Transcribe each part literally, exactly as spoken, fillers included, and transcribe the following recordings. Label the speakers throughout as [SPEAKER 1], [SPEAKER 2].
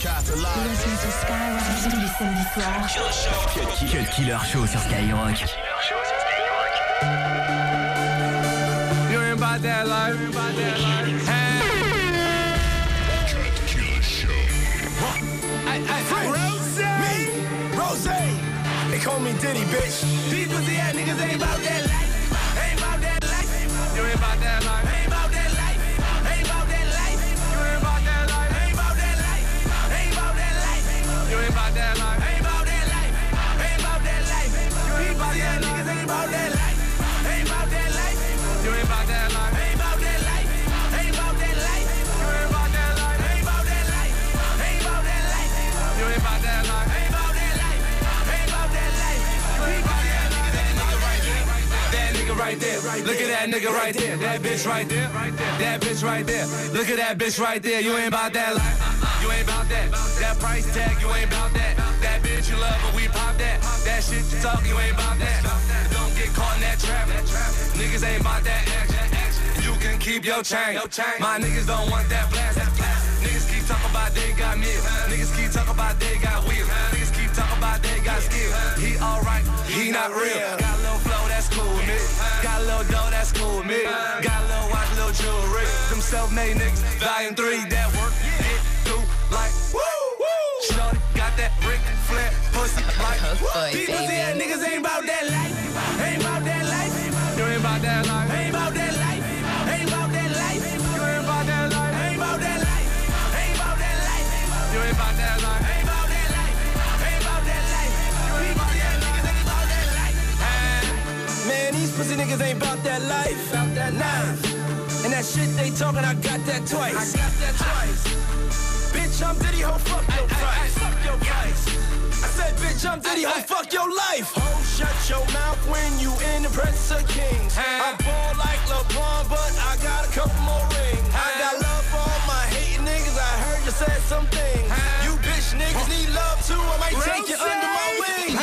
[SPEAKER 1] sur Skyrock tous les samedis soirs.
[SPEAKER 2] Cut Killer Show sur Skyrock.
[SPEAKER 3] You ain't about that life. You ain't about that life. Cut Killer Show. I, I, I, Rose, me, Rose. They call me Diddy, bitch. These pussy ass niggas ain't about that life. Ain't about that life. You ain't about that life. Ain't about that life. Ain't about that life. You ain't about that life. Ain't about that life. Ain't about that life. You ain't about that life. Ain't about that life. Ain't about that life. You ain't about that niggas ain't about that life. Ain't about that life. You ain't about that life. Ain't about that life. Ain't about that life. You ain't about that life. Ain't about that life. Ain't about that life. You ain't about that life. Ain't about that life. Ain't about that life. You ain't about that nigga. That nigga right there. That nigga right there. Look at that nigga right there. That bitch right there. That bitch right there. Look at that bitch right there. You ain't about that life. You ain't about that. That price tag, you ain't about that. That bitch you love, but we pop that. That shit you talk, you ain't about that. Don't get caught in that trap. Niggas ain't about that action. You can keep your chain. My niggas don't want that blast. Niggas keep talking about they got meals. Niggas keep talking about they got wheels. Niggas keep talking about they got skills. He alright, he not real. Got a little flow, that's cool with me. Got a little dough, that's cool with me. Got a little watch, little jewelry. Them self-made niggas, volume three, that work, get through like woo, woo. Shorty got that Ric Flair pussy like woo. These pussy ass niggas ain't about that life. Ain't about that life. You ain't about that life. Ain't about that life. Ain't about that life. You ain't about that life. Ain't about that life. Ain't about that life. You ain't about that life. Ain't about that life. Ain't about that life. You ain't about that niggas ain't about that life. Man, these pussy niggas ain't about that life. About that life. And that shit they talking, I got that twice. I got that twice. Bitch, I'm Diddy, ho, fuck your price. Fuck your price. I said, bitch, I'm Diddy, ho, fuck your life. Ho, shut your mouth when you in the presence of kings. I ball like LeBron, but I got a couple more rings. I got love for all my hating niggas. I heard you said some things. You bitch niggas need love too. I might take you under my wing.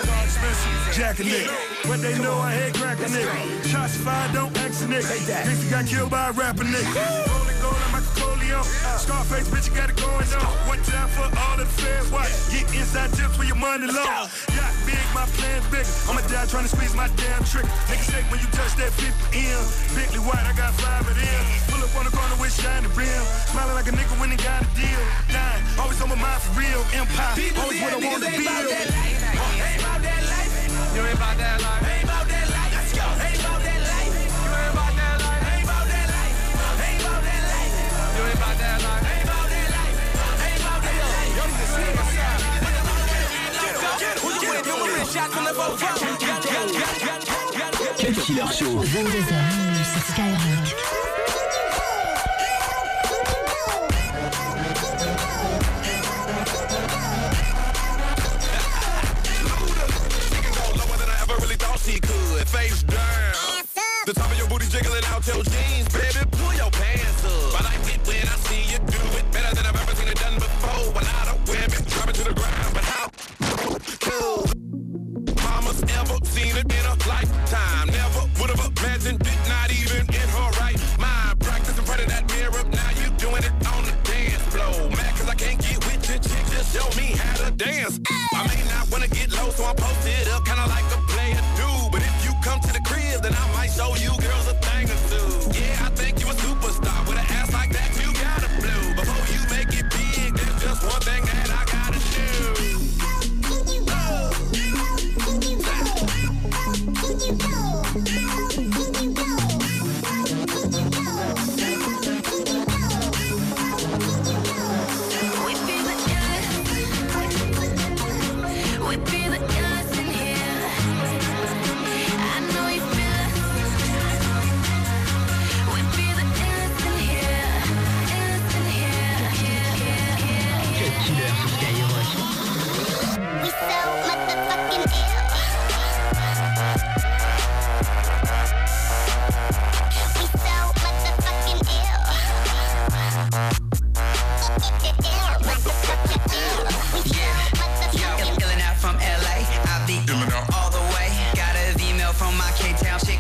[SPEAKER 4] Jack a nigga, but they know I head crack a nigga. Shots fired, don't ask a nigga. Niggas got killed by a rapper nigga. Rolling gold like Michael Corleone. Scarface, bitch, you got it going on. One time for all of the feds, watch. Get inside tips for your money low. Yacht big, my plan's bigger. I'ma die trying to squeeze my damn trick. Niggas say when you touch that fifty M. Bentley white, I got five of them. Pull up on the corner with shiny rim. Smiling like a nigga when he got a deal. Dying, always on my mind for real. Empire, always what I want to be.
[SPEAKER 3] Ain't about that life. You ain't about that life. Ain't about that life. Let's go. Ain't about that life. You ain't about that life. Ain't about that life. Ain't about that life. You ain't about that life. Ain't about that life. Ain't about that life. Yo, you can see my side. Who you with? You with shots from the boat.
[SPEAKER 2] Cut Killer Show.
[SPEAKER 1] vingt-deux heures minuit sur Skyrock.
[SPEAKER 3] He could face down. The top of your booty jiggling out your jeans, baby. Pull your pants up. I like it when I see you do it better than I've ever seen it done before. A lot of women drop it to the ground, but how cool? Mama's ever seen it in a lifetime. Never would have imagined it, not even in her right mind. Practice in front of that mirror, now you doing it on the dance floor. Mad cause I can't get with your chick, just show me how to dance. I may not wanna get low, so I'm posted up, kinda like a player do. But if you come to the crib, then I might show you girls a thing or two. Yeah, I think you a superstar. With an ass like that, you gotta blow. Before you make it big, there's just one thing that I gotta do.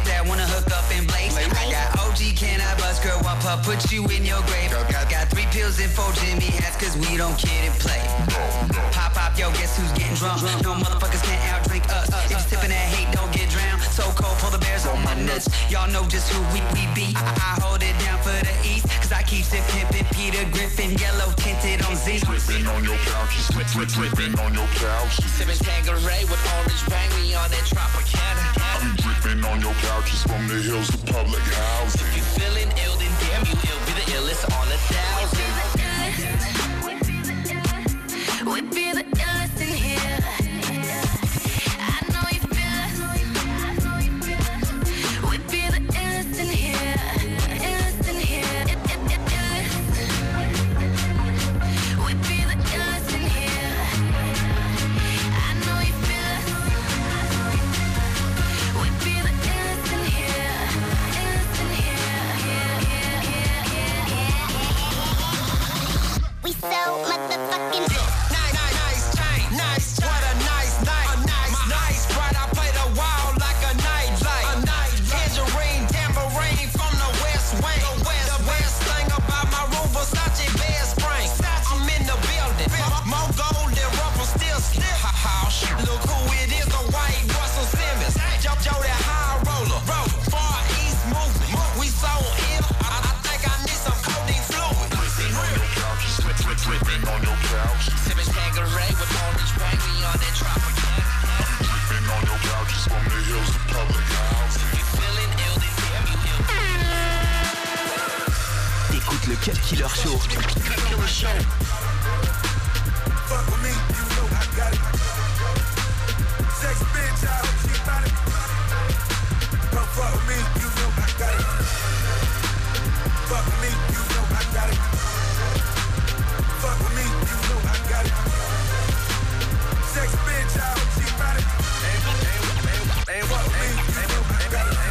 [SPEAKER 5] Put you in your grave. Got, got three pills pills and four Jimmy hats, cause we don't kid and play. Pop, pop, yo, guess who's getting drunk? No motherfuckers can't outdrink us. If you're sipping that hate, don't get drowned. So cold, pull the bears on my nuts. Y'all know just who we, we be. I, I hold it down for the East, cause I keep it pimpin'. Peter Griffin, yellow tinted on Z.
[SPEAKER 6] Drippin' on your couch, drip, drip, drippin' on your couch.
[SPEAKER 5] Sippin' Tanqueray with orange bang, we on that Tropicana.
[SPEAKER 6] I be drippin' on your couches from the hills to public housing.
[SPEAKER 5] If you feelin' ill, then damn you ill. Be the illest on a thousand.
[SPEAKER 1] We be the illest in here. I know you feel it. We be the illest in here. Illest in here. It, it, it, illest. We be the illest in here. I know you feel it. We be the illest in here. Illest in here. Yeah, yeah, yeah, yeah, yeah. We so motherfucking
[SPEAKER 3] nice, nice chain, nice chain. What a nice night, a nice, nice bright. I play the wall like a night light, a night tangerine, tambourine from the west wing. The west, the best thing about my room, Versace bed spring. I'm in the building, more gold than Ruffle still slip. Ha ha, look who it is, the white Russell Simmons. Joe, Joe that high roller, roll far east movement. We so ill, I, I think I need some codeine fluid.
[SPEAKER 6] Drippin' on your couch.
[SPEAKER 5] Sippin' Tanqueray with orange bang, we on that Tropicana.
[SPEAKER 6] Drippin' on your couches from the hills to public housing.
[SPEAKER 5] If you feelin' ill, then damn you ill.
[SPEAKER 2] Écoute le Cut Killer Show.
[SPEAKER 4] Cut Killer Show. Fuck with me, you know I got it. Sex bitch, I hope she got it. Don't fuck with me, you know I got it. Fuck with me, you know I got it. Fuck with me, you know I got it. Sex bitch, I hope she got it. Ain't fuck with me, you know I got it.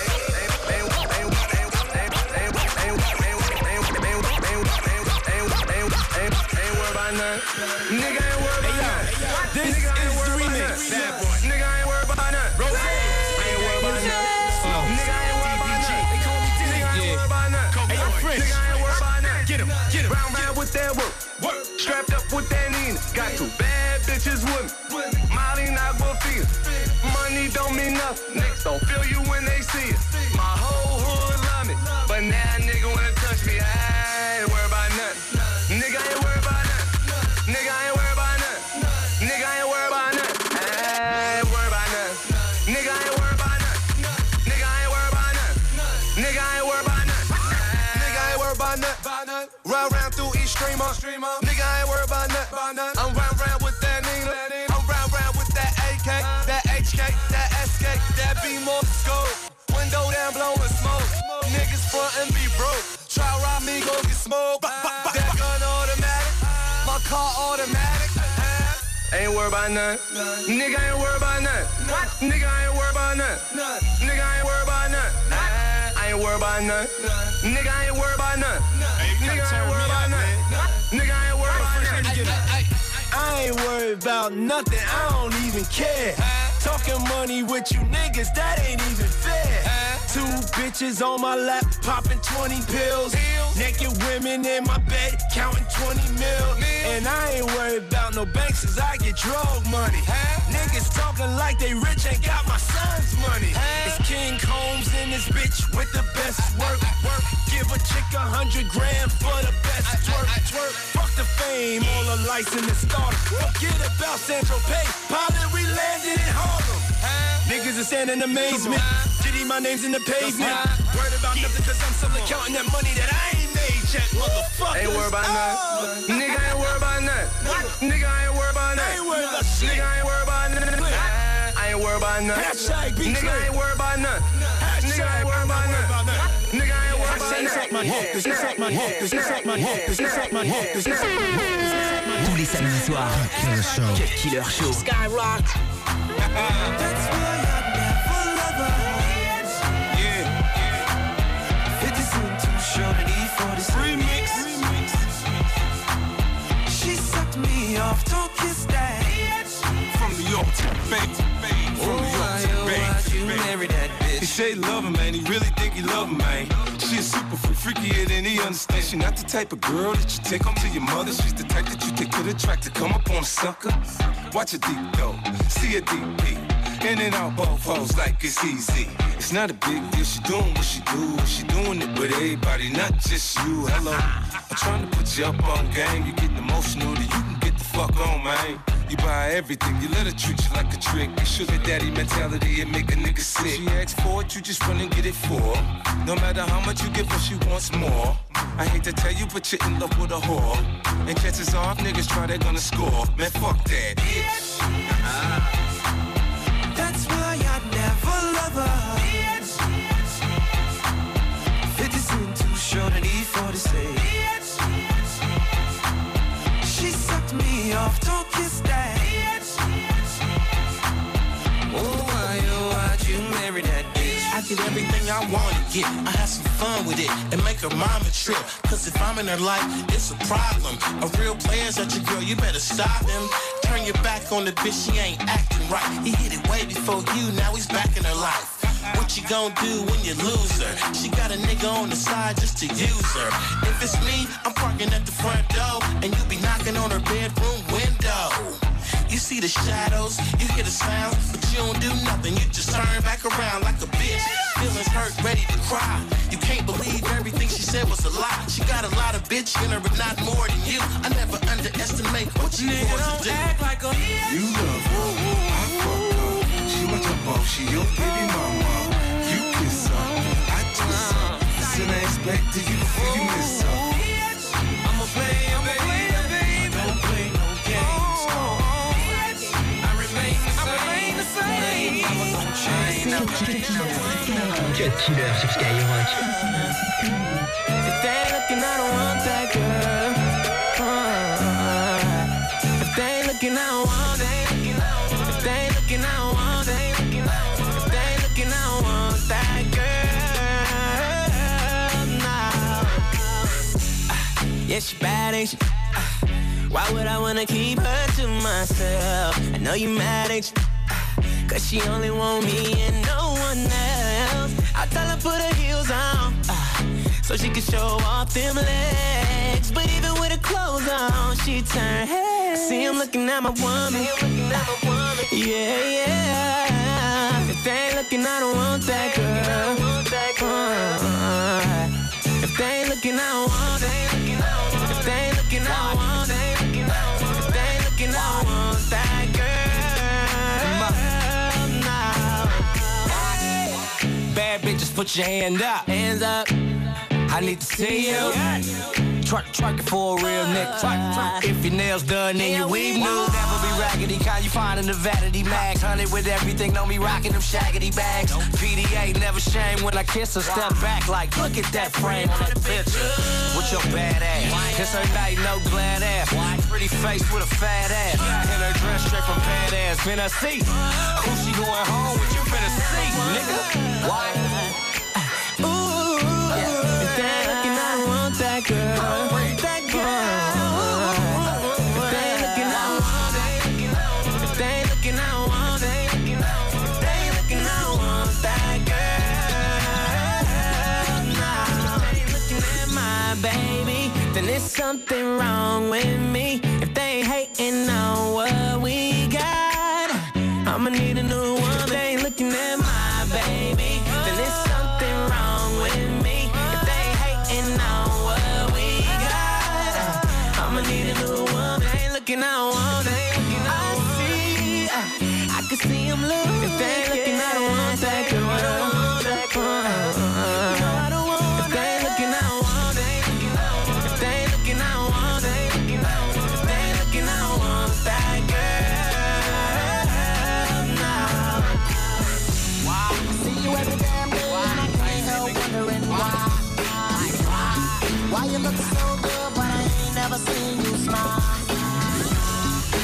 [SPEAKER 3] Nigga ain't worried about none. This is the remix. Nigga ain't worried about none. Rose. I ain't worried about none. Nigga ain't worried about none. Nigga ain't worried about none. Nigga ain't worried about none. Get him, get him. Round round with that work. Work. Strapped up with that Nina. Got two bad bitches with me. Molly not gonna feel it. Money don't mean nothing. Niggas don't feel you when they see it. My whole hood love me, but now nigga wanna touch me. I ain't worried about nothing. Nigga ain't worried about nothing. Nigga ain't worried about nothing. Nigga ain't worried about nothing. I ain't worried about nothing. Nigga ain't worried about nothing. Nigga ain't worried about nothing. Nigga ain't worried about nothing. Nigga ain't worried about nothing. Round round through each streamer. Nigga ain't worried about nothing. I'm round round with that Nina. I'm round round with that A K, that H K, that S K, that B more scope. Window down blowing smoke. Niggas front and be broke. Try rob me, go get smoked. That gun automatic. My car automatic. Ain't worried about none. Nigga ain't worried about none. Nigga ain't worried about none. Nigga ain't worried about none. I ain't worried about none. Nigga ain't worried about none. Nigga ain't worried about none. Nigga ain't worried about none. I ain't worried about nothing. I don't even care. Talking money with you niggas, that ain't even fair. Two bitches on my lap, popping twenty pills. Naked women in my bed, counting twenty mil. And I ain't worried about no banks, cause I get drug money. Niggas talking like they rich, ain't got my son's money. It's King Combs in this bitch with the best work. Work. Give a chick a hundred grand for the best twerk. Twerk. Fuck the fame, all the lights in the starter. Forget about Central Pay, pilot, we landed in Harlem. Niggas are standing in amazement. Diddy, my name's in the pavement. Worried about nothing cause I'm still counting that money that I ain't made yet, motherfucker. Ain't worried about nothing. Nigga ain't worried about nothing. Nigga ain't worried about nothing. Nigga ain't worried about nothing. I ain't worried about nothing. Nigga ain't worried about nothing. Nigga ain't worried about nothing. Nigga ain't worried about nothing.
[SPEAKER 2] Tous les samedis soirs.
[SPEAKER 7] Killer Show.
[SPEAKER 2] Cut Killer Show.
[SPEAKER 5] Skyrock.
[SPEAKER 3] That's why I never love her. Yeah. fifty cent too short and E forty remix. She sucked me off, don't kiss that. from New York to the Bay. From New York to the Bay.
[SPEAKER 5] You marry that bitch.
[SPEAKER 3] He say he love him, man. He really think he love him, man. She a super freak, freakier than he understands. She not the type of girl that you take home to your mother. She's the type that you take to the track to come up on a sucker. Watch her deep though, see a deep peek. In and out both hoes like it's easy. It's not a big deal, she doing what she do. She doing it with everybody, not just you. Hello, I'm trying to put you up on game. You getting emotional, then you can get the fuck on, man. You buy everything, you let her treat you like a trick. You sugar daddy mentality, it make a nigga sick. She asks for it, you just run and get it for her. No matter how much you give her, she wants more. I hate to tell you, but you're in love with a whore. And chances are, if niggas try, they're gonna score. Man, fuck that.
[SPEAKER 5] That's why I never love her. fifty cent too short and E forty-six. She sucked me off, don't kiss that. Oh, why, oh, why'd you marry that bitch?
[SPEAKER 7] I get everything I wanna get. I have some fun with it and make her mama trip. Cause if I'm in her life, it's a problem. A real player's at your girl, you better stop him. Turn your back on the bitch, she ain't acting right. He hit it way before you, now he's back in her life. What you gon' do when you lose her? She got a nigga on the side just to use her. If it's me, I'm parking at the front door, and you be knocking on her bedroom window. You see the shadows, you hear the sounds, but you don't do nothing, you just turn back around like a bitch. Feelings hurt, ready to cry. You can't believe everything she said was a lie. She got a lot of bitch in her, but not more than you. I never underestimate what you want to do.
[SPEAKER 5] Act like a
[SPEAKER 3] You love her, I fuck her. She want your ball, she your baby mama. You kiss her, I kiss her. Listen, I expect you before you miss her.
[SPEAKER 5] I'm a player, baby, baby.
[SPEAKER 3] Don't play no games.
[SPEAKER 5] I remain the same. I remain the same. I'm a
[SPEAKER 2] Cut Killer sur Skyrock.
[SPEAKER 5] If they looking, I don't want that girl. Uh, if they looking, I don't want that. If they looking, I don't want that. If they looking, I don't want that girl. Nah. Uh, yeah, she bad, ain't she? Uh, why would I wanna keep her to myself? I know you mad, ain't you? Cause she only want me and no one else. I tell her put her heels on, uh, so she can show off them legs. But even with her clothes on, she turn head. See him looking at my woman. Yeah, yeah. If they ain't looking, I don't want that girl. Uh, if they ain't looking, I don't want that. If they ain't looking, I don't want that. If they ain't looking, I don't want that girl. Bad bitches, put your hand up. Hands up. I need to see you. Twerk, twerk it for a real nigga. Twerk, twerk. If your nails done, then your weave new. Never be raggedy, kind you find in the vanity mags. Honey with everything, don't be rocking them shaggedy bags. P D A never shame when I kiss her. Step back like, look at that frame on that picture. With your bad ass. Kiss her night, no glad ass. Pretty face with a fat ass. And her dress straight from badass. Finna see who she going home with. You finna see, nigga. Why? Ooh, yeah. If they looking, I don't want that girl. That girl. If they looking, I don't want that. If they looking, I don't want that. If they looking, I don't want that girl. Nah. If they looking at my baby, then there's something wrong with me. If they ain't hating on what we got, I'ma need a new one. If they ain't looking at my baby, then there's something wrong with me. If they ain't hating on what we got, I'ma need a new one. If they ain't looking, I don't want it. I see, I can see them look. If they ain't looking, I don't want that girl. Uh, I don't want if they ain't looking, I don't want it. If they ain't looking, I don't want it. If they ain't looking, I don't want that girl. Nah. Wow.
[SPEAKER 8] See you every damn day and I can't help wondering why. Why you look so good but I ain't never seen you smile.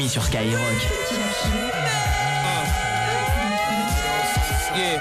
[SPEAKER 9] Mani sur Skyrock.
[SPEAKER 3] Yeah.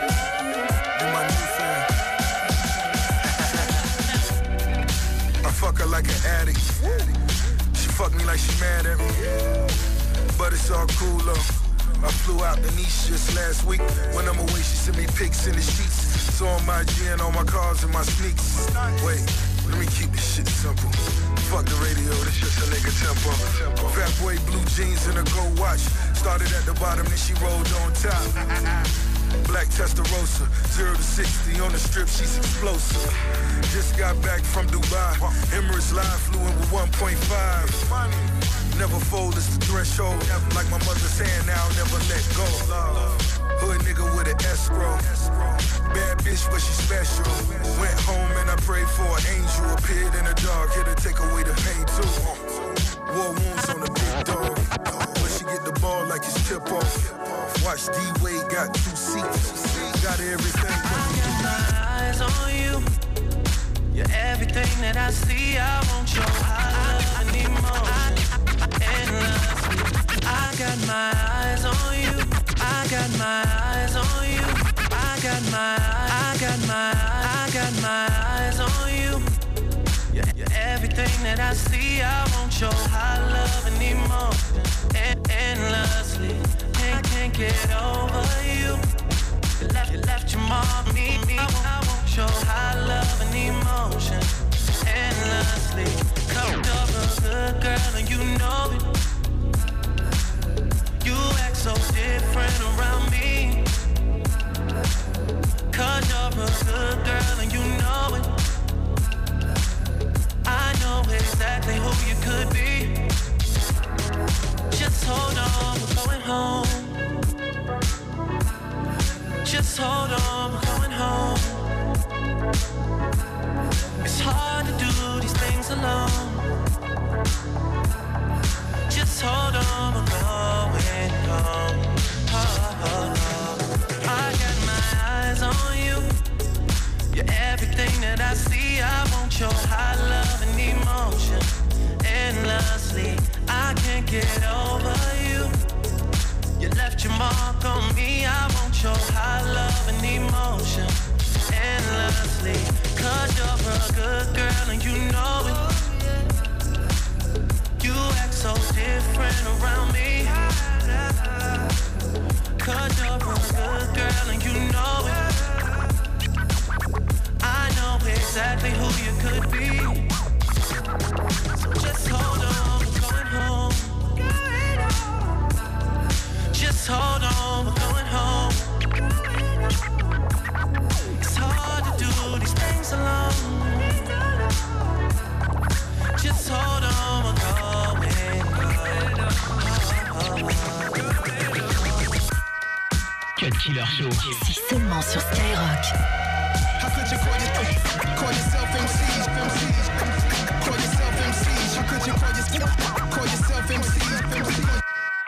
[SPEAKER 3] I fuck her like an addict. She fuck me like she mad at me. But it's all cool though. I flew out to Nice just last week. When I'm away, she sent me pics in the sheets. So on my gin, on my cars and my sneaks. Wait, let me keep this shit simple. Fuck the radio, this just a nigga tempo. Fat boy, blue jeans and a gold watch. Started at the bottom, then she rolled on top. Black Testarossa, zero to sixty on the strip, she's explosive. Just got back from Dubai. Emirates Live flew in with one point five. Never fold, it's the threshold. Like my mother's hand, now never let go. Hood nigga with an escrow. Bad bitch, but she special. Went home and I prayed for an angel. Appeared in the dark, here to take away the pain too. War wounds on the big dog. But she get the ball like it's tip off. Watch D-Wade got two seats. Got everything.
[SPEAKER 8] I got my eyes on you. You're everything that I see. I want your love. I need more. Endlessly. I got my eyes on you. I got my eyes on you. I got my, I got my, I got my eyes on you. You're, you're everything that I see. I want your high love and emotion. En- endlessly. Can't, can't get over you. You left, you left your mark, me, me. I want your high love and emotion. Endlessly. Come up a good girl and you know it. You act so different around me. Cause you're a good girl and you know it. I know exactly who you could be. Just hold on, we're going home. Just hold on, we're going home. It's hard to do these things alone. Just hold on, we're going home. Oh, oh, oh. I got my eyes on you. You're everything that I see. I want your high love and emotion. Endlessly, I can't get over you. You left your mark on me. I want your high love and emotion. Endlessly, cause you're a good girl and you know it. You act so different around me. Cause you're a good girl and you know it. I know exactly who you could be. So just hold on, we're going home. Just hold on, we're going home. It's hard to do these things alone. Just hold on, we're going home.
[SPEAKER 9] Cut Killer Show.
[SPEAKER 10] C'est seulement sur Skyrock.
[SPEAKER 3] How could you call, your, call yourself M Cs? M Cs? Call yourself M Cs. How could you call, your, call yourself M Cs? M Cs?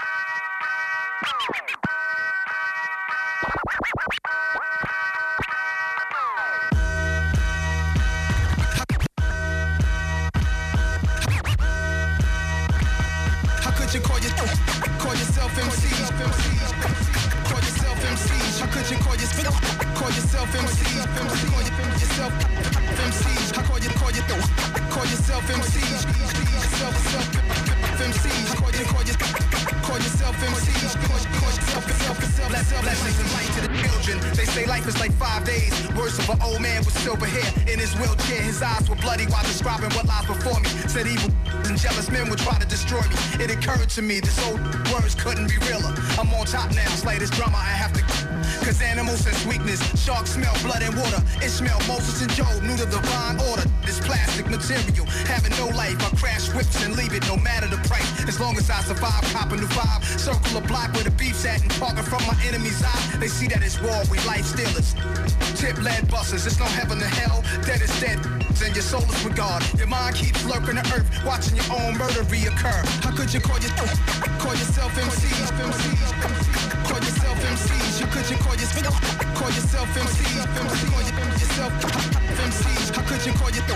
[SPEAKER 3] How could you call, your, call yourself M Cs? M Cs? Call yourself M Cs. How could you call, your, call yourself M Cs? Call yourself M Cs. How call you call you call yourself M Cs? Yourself self M Cs. Call you call you call yourself M Cs. Call yourself yourself yourself. Blessings and light to the children. They say life is like five days. Words of an old man with silver hair in his wheelchair. His eyes were bloody while describing what lies before me. Said evil and jealous men would try to destroy me. It occurred to me this old words couldn't be realer. I'm on top now. Slay this drama. I have to. Cause animals sense weakness. Sharks smell blood and water. Ishmael, Moses, and Job knew the divine order. This plastic material having no life. I crash whips and leave it no matter the price. As long as I survive, cop a new vibe. Circle a block where the beef's at and parking from my enemy's eye. They see that it's war, we life stealers. Tip lead busters, it's no heaven to hell. Dead is dead, and your soul is with God. Your mind keeps lurking the earth, watching your own murder reoccur. How could you call, your, call yourself M Cs? M Cs? Call yourself M Cs. How could you call, your, call yourself M Cs? Call yourself M Cs. How could you call, your,